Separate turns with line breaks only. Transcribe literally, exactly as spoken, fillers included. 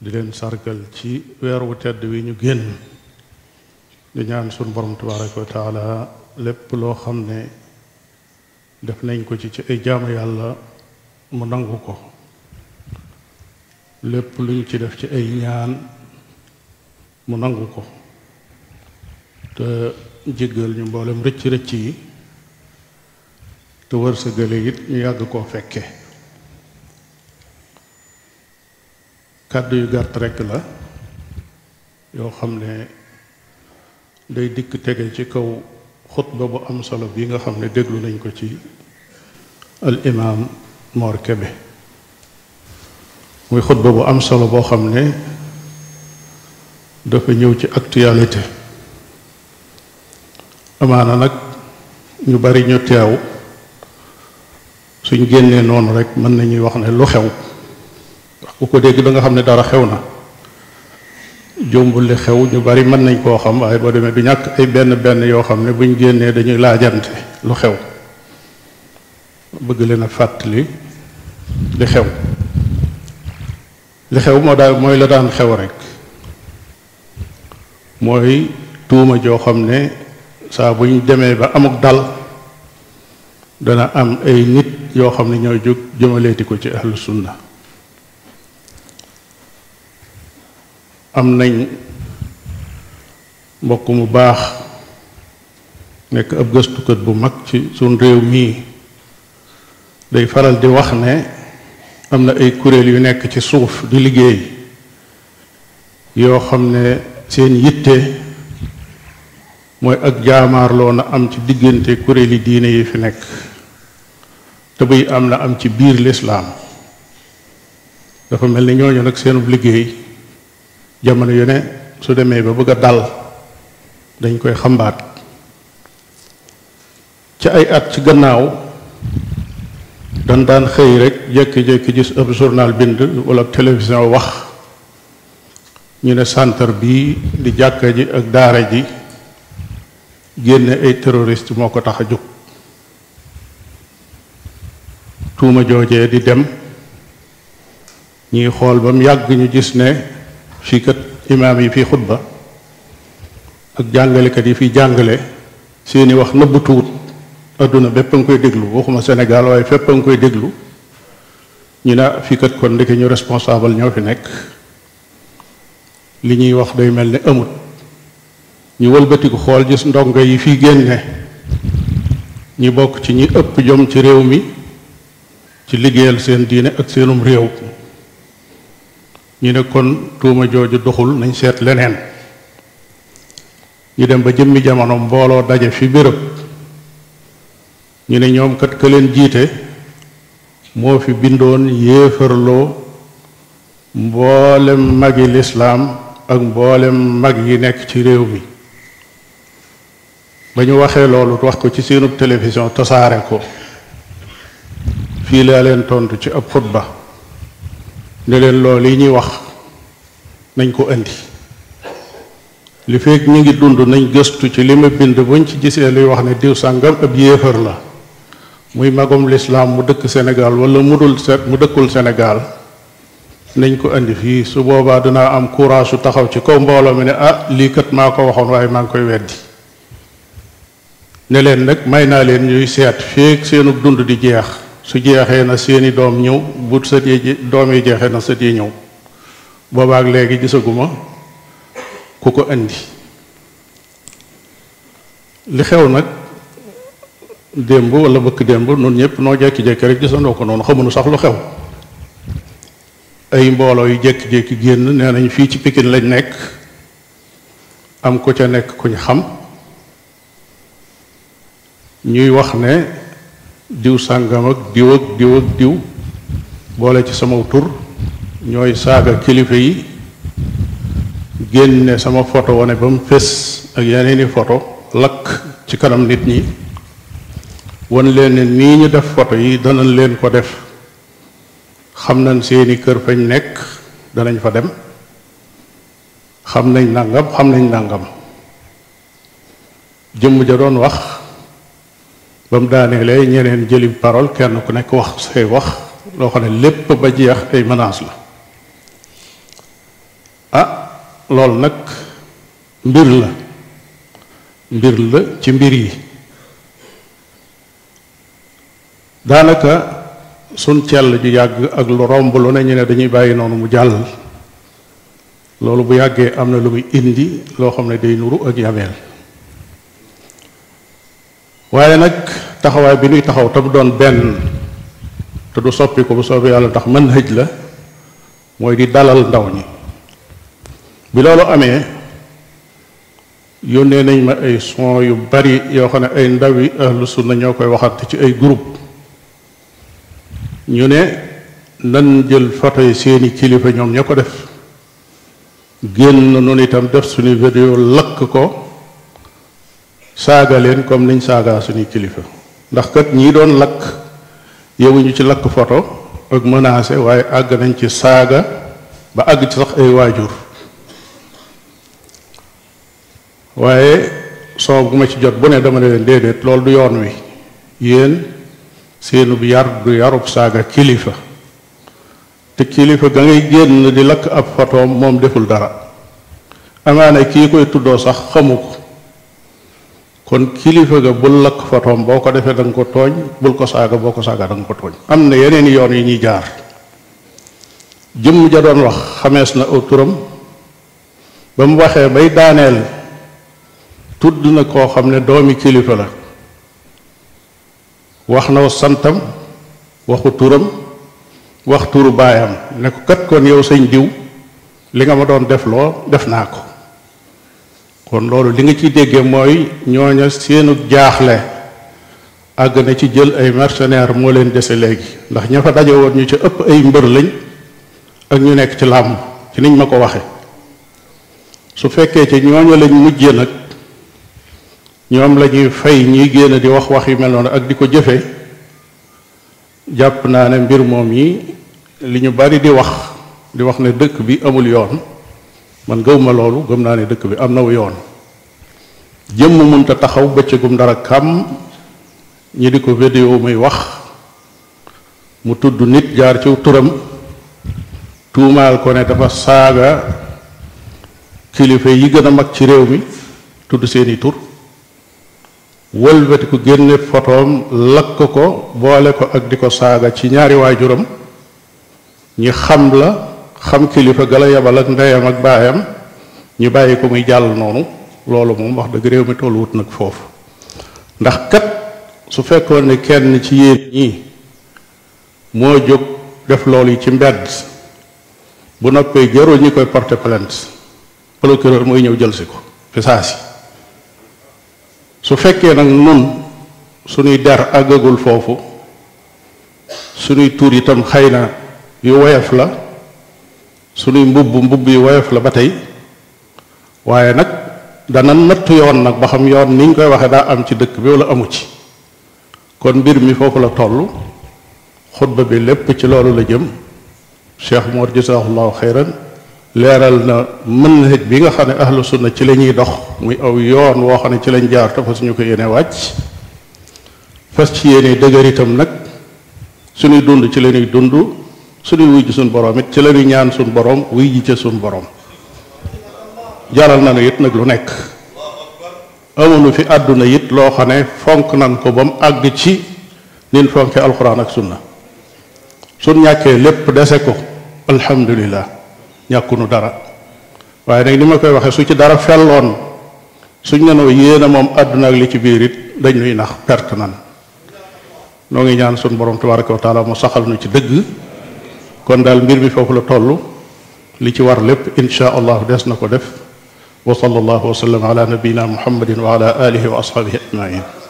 di leen sargal ci weer wu tedd wi ñu génn di ñaan sunu borom tabaraka wa taala lépp loo xam ne def nañ ko ci ci ay jaamu yàlla mu nangu ko lépp luñ ci def ci ay ñaan mu nangu ko te jéggal ñu mboolem rëcc rëcc yi te wërsëgale it ñu yàgg koo fekke kàddu yu gàtt rekk la yoo xam ne day dikk tege ci kaw xutba bu am solo bi nga xam ne déglu nañ ko ci al imaam Mor Kébé muy xutba bu am solo boo xam ne dafa ñëw ci actualité amaana nag ñu bari ñu teew suñ génnee noonu rek mën nañuy wax ne lu xew wax ku ko dégg da nga xam ne dara xew na jombul li xew ñu bari mën nañ koo xam waaye boo demee du ñàkk ay benn benn yoo xam ne buñ génnee dañuy laajante lu xew bëgg leen a fàttali li xew li xew moo daal mooy la daan xew rek mooy tuuma joo xam ne saa buñ demee ba amuk dal dana am ay nit yoo xam ne ñooy jóg jëmaleeti ko ci ahlu sunna am nañ mbokk mu baax nekk ab gëstukat bu mag ci suñ réew mii day faral di wax ne am na ay kuréel yu nekk ci suuf di liggéey yoo xam ne seen yitte mooy ak jaamaarloo na am ci diggante kuréeli diine yi fi nekk te buy am na am ci biir lislaam dafa mel ni ñooñu nag seenub liggéey jamono yu ne su demee ba bëgg a dal dañ koy xambaat ci ay at ci gannaaw dan daan xëy rek jékki-jékki gis ab journal bind wala télévision wax ñu ne centre bii di jàkka ji ak daara ji génne ay terroriste moo ko tax a jóg tuuma joojee di dem ñuy xool ba mu yàgg ñu gis ne fii kat imaam yi fii xutba ak jàngalekat yi fii jàngale seeni wax nëbbu tuut adduna bépp a nga koy déglu waxuma Sénégal waaye fépp a nga koy déglu ñu ne fii kat kon ndeke ñu responsable ñoo fi nekk li ñuy wax day mel ni amut ñu wëlbatiku xool gis ndongo yi fii génne ñi bokk ci ñi ëpp jom ci réew mi ci liggéeyal seen diine ak seenum réew ñu ne kon tuuma jooju doxul nañ seet leneen ñu dem ba jëmmi jamono mbooloo daje fi béréb ñu ne ñoom kat ka leen jiite moo fi bindoon yéefarloo mboolem magi lislaam ak mboolem mag yi nekk ci réew mi ba ñu waxee loolu wax ko ci seenub télévision tasaare ko fii laa leen tontu ci ab xutba ne leen loolu yi ñuy wax nañ ko indi li fekk ñu ngi dund nañ gëstu ci li ma bind buñ ci gisee luy wax ne diw sàngam ab yéefar la muy magum lislaam mu dëkk Sénégal wala mu dul mu dëkkul Sénégal nañ ko indi fii su boobaa dinaa am courage su taxaw ci kaw mbooloo mi ne ah lii kat maa ko waxoon waaye maa ngi koy weddi ne leen nag may naa leen ñuy seet feek seenu dund di jeex su jeexee na seeni doom ñëw bu sët yi doom yi jeexee na sët yi ñëw boobaak léegi gisaguma ku ko indi li xew nag démb wala bëkk démb noonu ñëpp noo jekki-jekki rek gisandoo ko noonu xamuñu sax lu xew ay mbooloo yu jékki-jékki génn nee nañ fii ci Pikine lañ nekk am ku ca nekk kuñ xam ñuy wax ne diw sàngam ak diw ak diw ak diw boole ci sama tur ñooy saaga kilifa yi génne sama photo wane ba mu fés ak yeneeni photo lakk ci kanam nit ñi wan leen ne nii ñu def photo yi danañ leen ko def xam nañ seeni kër fañ nekk danañ fa dem xam nañ nàngam xam nañ nàngam jëmm ja doon wax ba mu daaneele ñeneen jëli parole kenn ku nekk wax say wax loo xam ne lépp ba jeex ay menaces la loolu nag mbir la mbir la ci mbir yi daanaka sun cell ju yàgg ak lu romb lu ne ñu ne dañuy bàyyi noonu mu jàll loolu bu yàggee am na lu muy indi loo xam ne day nuru ak yabeel waaye nag taxawaay bi nuy taxaw te mu doon benn te du soppi ko bu soobee yàlla tax mën hëj la mooy di dalal ndaw ñi bi loolu amee yónnee nañ ma ay son yu bari yoo xam ne ay ndawi ahlu sunna ñoo koy waxante ci ay groupe ñu ne nan jël photo yi seeni kilifa ñoom ña ko def génn noonu itam def suñu vidéo lakk ko saaga leen comme niñ saagaa suñuy kilifa ndax kat ñii doon lakk yowuñu ci lakk photo ak menacé waaye àgg nañ ci saaga ba àgg ci sax ay waajur waaye soo bu ma ci jot bu ne dama ne leen déedéet loolu du yoon wi yéen seenub yar du yarub saaga kilifa te kilifa ga ngay génn di lakk ab photoom moom deful dara amaana kii koy tuddoo sax xamu ko kon kilifa ga bul lakk photoom boo ko defee da nga ko tooñ bul ko saaga boo ko saaga da nga ko tooñ am na yeneen yoon yi ñuy jaar jëmm ja doon wax xamees na aw turam ba mu waxee bay daaneel tudd na koo xam ne doomi kilifa la wax na santam waxu turam wax turu baayam ne ko kat kon yow sëñ diw li nga ma doon def loo def naa ko kon loolu li nga ciy déggee mooy ñooña seenu jaaxle àgg na ci jël ay mercenaires moo leen dese léegi ndax ña fa daje woon ñu ci ëpp ay mbër lañ ak ñu nekk ci làmb ci niñ ma ko waxe su fekkee ci ñooñu lañ mujjee nag ñoom la ñuy fay ñiy génn di wax wax yu mel noonu ak di ko jëfe jàpp naa ne mbir moom yi li ñu bari di wax di wax ne dëkk bi amul yoon man gëwma loolu gëm naa ne dëkk bi am na wu yoon jëmm mënta taxaw bëccëgum dara kam ñi di ko vidéo muy wax mu tudd nit jaar ci turam tuumaal ko ne dafa saaga kilifa yi gën a mag ci réew mi tudd seeni tur wëlbati ko génne fotoom lakk ko boole ko ak di ko saaga ci ñaari waajuram ñi xam la xam kilifa gala yabal ak ndeyam ak baayam ñu bàyyi ko muy jàll noonu loolu moom wax dëgg réew mi tollu wut nag foofu ndax kat su fekkoon ne kenn ci yéen ñi moo jóg def loolu yi ci mbedd bu noppee jarul ñi koy porter plainte procureur mooy ñëw jël si ko fi saa si su fekkee nag nun suñuy der àggagul foofu suñuy tur itam xëy na yu woyof la suñuy mbubb mbubb yu woyof la ba tey waaye nag dana nattu yoon nag ba xam yoon niñ koy waxee daa am ci dëkk bi wala amu ci kon mbir mi foofu la toll xutba bi lépp ci loolu la jëm Cheikh Mor jazaahullahu xeyran leeral na manhaj bi nga xam ne ahlu sunna ci la ñuy dox muy aw yoon woo xam ne ci lañ jaar te fas ñu ko yéene wàcc fas ci yéene dëgër itam nag suñuy dund ci la ñuy dund suñuy wuy ji suñ borom it ci la ñuy ñaan suñ borom wuy ji ca suñ borom jaral na nu it nag lu nekk amuñu fi àdduna it loo xam ne fonk nan ko ba mu àgg ci nin fonke alxuraan ak sunna suñ ñàkkee lépp dese ko alhamdulillah ñàkkunu dara waaye nag ni ma koy waxee su ci dara felloon suñ nenoo yéena moom àdduna ak li ci biir it dañ nuy nax perte nan noo ngi ñaan suñ borom tabaraka wa taala mu saxal nu ci dëgg kon daal mbir mi foofu la toll li ci war lépp insha allah des na ko def wa sallallahu wa sallam ala nabiyina muhammadin wa ala alihi wa ashabihi ajmain